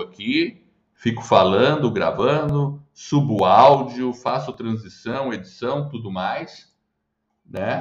aqui, fico falando, gravando, subo áudio, faço transição, edição, tudo mais, né?